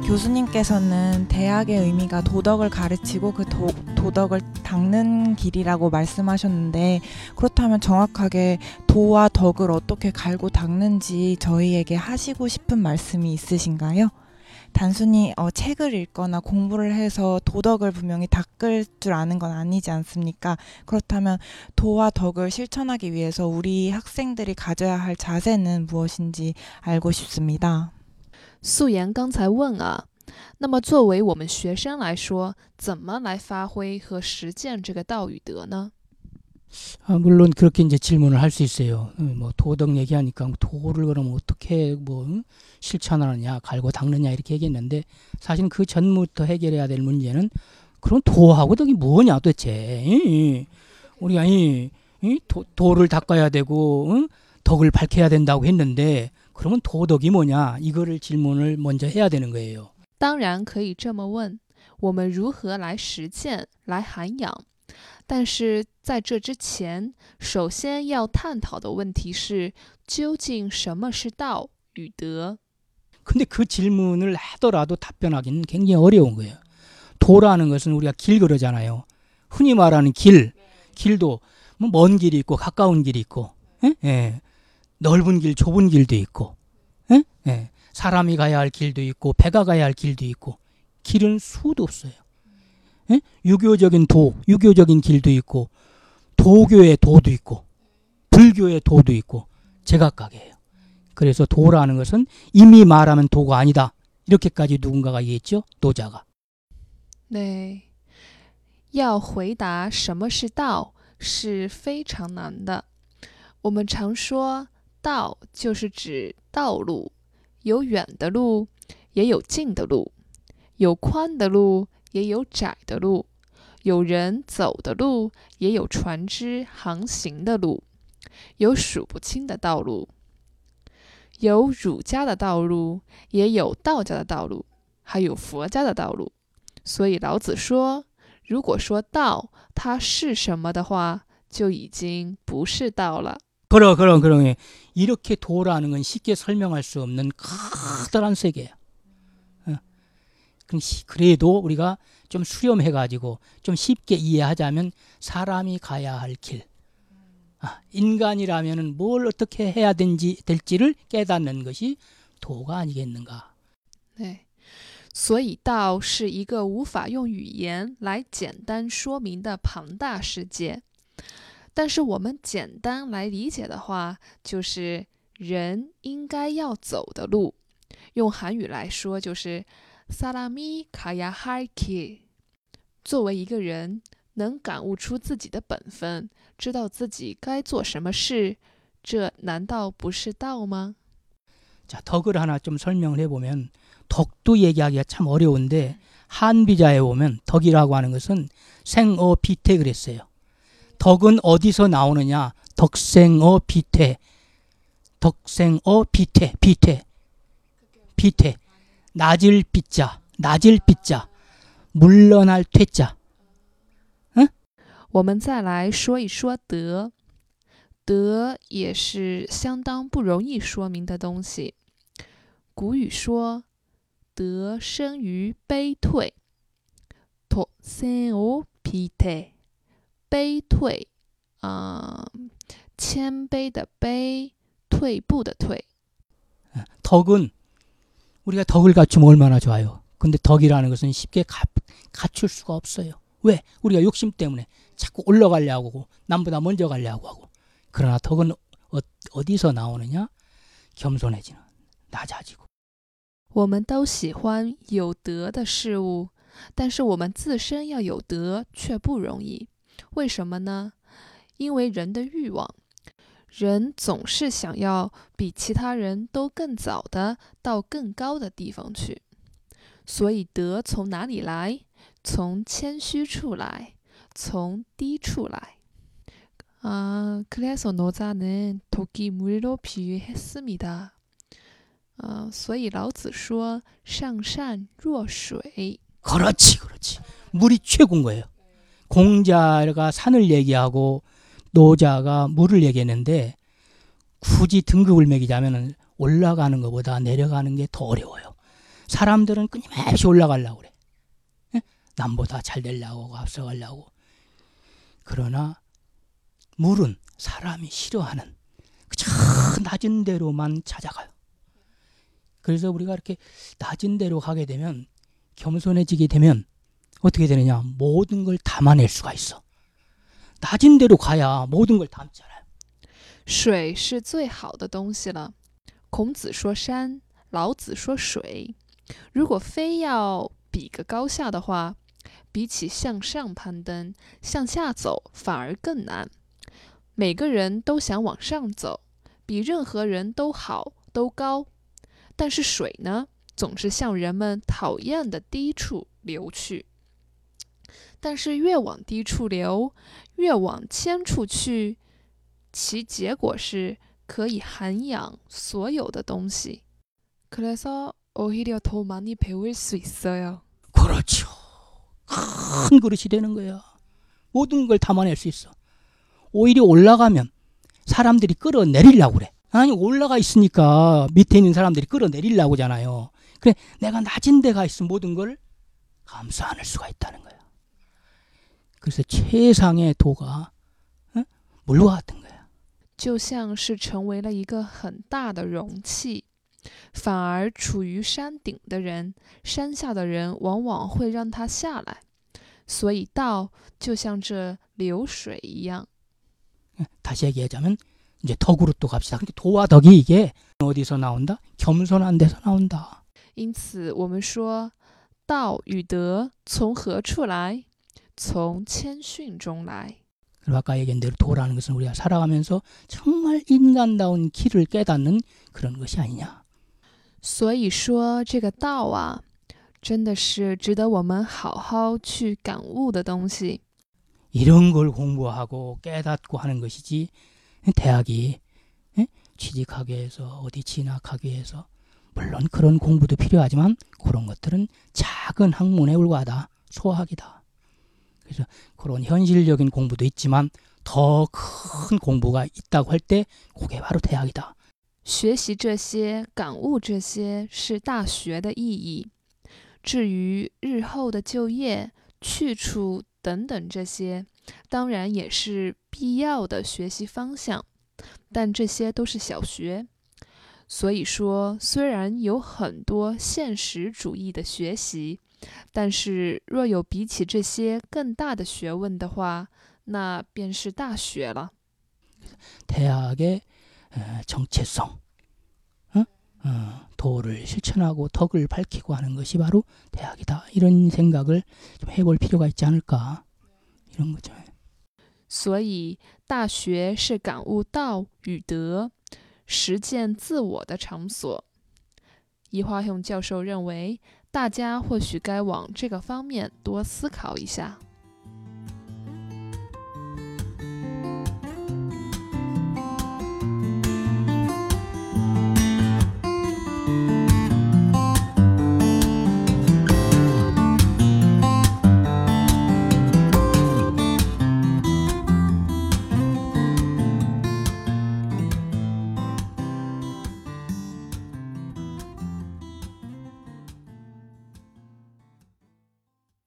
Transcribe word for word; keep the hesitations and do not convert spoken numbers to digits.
교수님께서는 대학의 의미가 도덕을 가르치고 그 도, 도덕을 닦는 길이라고 말씀하셨는데, 그렇다면 정확하게 도와 덕을 어떻게 갈고 닦는지 저희에게 하시고 싶은 말씀이 있으신가요? 단순히 어, 책을 읽거나 공부를 해서 도덕을 분명히 닦을 줄 아는 건 아니지 않습니까? 그렇다면 도와 덕을 실천하기 위해서 우리 학생들이 가져야 할 자세는 무엇인지 알고 싶습니다. 素颜刚才问啊，那么作为我们学生来说，怎么来发挥和实践这个道与德呢？ 아, 물론 그렇게 이제 질문을 할 수 있어요. 뭐 도덕 얘기하니까 도를 그럼 어떻게 뭐 실천하느냐, 갈고 닦느냐 이렇게 얘기했는데, 사실은 그 전부터 해결해야 될 문제는 그럼 도하고 덕이 뭐냐 도대체. 이, 우리가 이, 이 도, 도를 닦아야 되고 응? 덕을 밝혀야 된다고 했는데, 그러면 도덕이 뭐냐, 이거를 질문을 먼저 해야 되는 거예요. 当然可以这么问，我们如何来实践，来涵养？但是在这之前，首先要探讨的问题是，究竟什么是道与德？ 근데 그 질문을 하더라도 답변하기는 굉장히 어려운 거예요. 도라는 것은 우리가 길 그러잖아요. 흔히 말하는 길, 길도 뭐 먼 길이 있고 가까운 길이 있고, 에? 예. 넓은 길, 좁은 길도 있고, 에? 예. 사람이 가야 할 길도 있고 배가 가야 할 길도 있고, 길은 수도 없어요. 에? 유교적인 도, 유교적인 길도 있고, 도교의 도도 있고, 불교의 도도 있고, 제각각이에요. 그래서 도라는 것은 이미 말하면 도가 아니다, 이렇게까지 누군가가 얘기했죠, 도자가. 네, 要回答什么是道是非常难的。我们常说道就是指道路，有远的路，也有近的路，有宽的路，也有窄的路，有人走的路，也有船只航行的路，有数不清的道路，有儒家的道路，也有道家的道路，还有佛家的道路。所以老子说，如果说道它是什么的話，就已经不是道了。 그럼 그럼 그럼 이렇게 도라는 건 쉽게 설명할 수 없는 커다란 세계야. 어. 그래도 우리가 좀 수렴해가지고 좀 쉽게 이해하자면, 사람이 가야 할 길, 아, 인간이라면은 뭘 어떻게 해야 된지, 될지를 깨닫는 것이 도가 아니겠는가. 네. 所以道是一个无法用语言来简单说明的庞大世界。但是我们简单来理解的话，就是人应该要走的路。用韩语来说，就是사람이 가야 할 길。 作为一个人，能感悟出自己的本分，知道自己该做什么事，这难道不是道吗？ 자, 덕을 하나 좀 설명을 해보면, 덕도 얘기하기가 참 어려운데, 한비자에 보면 덕이라고 하는 것은 생어 비태 그랬어요. 덕은 어디서 나오느냐? 덕생어 비태. 덕생어 비태, 비태, 비태. 낮을 비자, 낮을 비자, 물러날 퇴자. 응? 我们再来说一说德。德也是相当不容易说明的东西。古语说，德生于悲退。덕생어 비태。 悲退，啊、呃，谦卑的卑，退步的退。 덕은 우리가 덕을 갖추면 얼마나 좋아요. 근데 덕이라는 것은 쉽게 가, 갖출 수가 없어요. 왜? 우리가 욕심 때문에 자꾸 올라가려고 하고, 남보다 먼저 가려고 하고. 그러나 덕은 어, 어디서 나오느냐? 겸손해지는, 낮아지고. 我们都喜欢有德的事物，但是我们自身要有德却不容易。为什么呢？因为人的欲望，人总是想要比其他人都更早的到更高的地方去。所以德从哪里来？从谦虚处来，从低处来。아, 그래서 노자는 덕이 물로 비유했습니다. 아, 所以老子说上善若水。 그렇지, 그렇지. 물이 최고인 거예요. 공자가 산을 얘기하고 노자가 물을 얘기했는데, 굳이 등급을 매기자면 올라가는 것보다 내려가는 게 더 어려워요. 사람들은 끊임없이 올라가려고 그래. 예? 남보다 잘 되려고 앞서가려고. 그러나 물은 사람이 싫어하는 저 낮은 데로만 찾아가요. 그래서 우리가 이렇게 낮은 데로 가게 되면, 겸손해지게 되면 어떻게 되느냐? 모든 걸 담아낼 수가 있어. 낮은 데로 가야 모든 걸 담잖아요. 水是最好的东西了。孔子说山，老子说水。如果非要比个高下的话，比起向上攀登，向下走反而更难。每个人都想往上走，比任何人都好，都高。但是水呢，总是向人们讨厌的低处流去。但是越往低处流，越往浅处去，其结果是可以涵养所有的东西。그래서 오히려 더 많이 배울 수 있어요. 그렇죠. 큰 그릇이 되는 거야. 모든 걸 담아낼 수 있어. 오히려 올라가면 사람들이 끌어내리려고 그래. 아니, 올라가 있으니까 밑에 있는 사람들이 끌어내리려고 하잖아요. 그래, 내가 낮은 데 가 있으면 모든 걸 감수 안할 수가 있다는 거야. 그래서 최상의 도가 어? 물과 같은 거야. 就像是成为了一个很大的容器，反而处于山顶的人，山下的人往往会让他下来。所以道就像这流水一样。 다시 얘기하자면 이제 덕으로 또 갑시다. 근데 도와 덕이 이게 어디서 나온다? 겸손한 데서 나온다. 因此我们说道与德从何处来？从谦逊中来。 그리고 아까 얘기한 대로 도라는 것은 우리가 살아가면서 정말 인간다운 길을 깨닫는 그런 것이 아니냐. 所以说这个道啊，真的是值得我们好好去感悟的东西。 이런 걸 공부하고 깨닫고 하는 것이지, 대학이 취직하기 위해서 어디 진학하기 위해서 물론 그런 공부도 필요하지만 그런 것들은 작은 학문에 불과하다. 소학이다. 그래서 그런 현실적인 공부도 있지만 더 큰 공부가 있다고 할 때 그게 바로 대학이다. 学习这些，感悟这些是大学的意义。至于日后的就业、去处等等这些，当然也是必要的学习方向，但这些都是小学。所以说，虽然有很多现实主义的学习，但是若有比起这些更大的学问的话，那便是大学了。 대학의 정체성, 어? 어, 도를 실천하고 덕을 밝히고 하는 것이 바로 대학이다. 이런 생각을 좀 해볼 필요가 있지 않을까, 이런 거죠. 所以，大学是感悟道与德、实践自我的场所。이화형教授认为，大家或许该往这个方面多思考一下。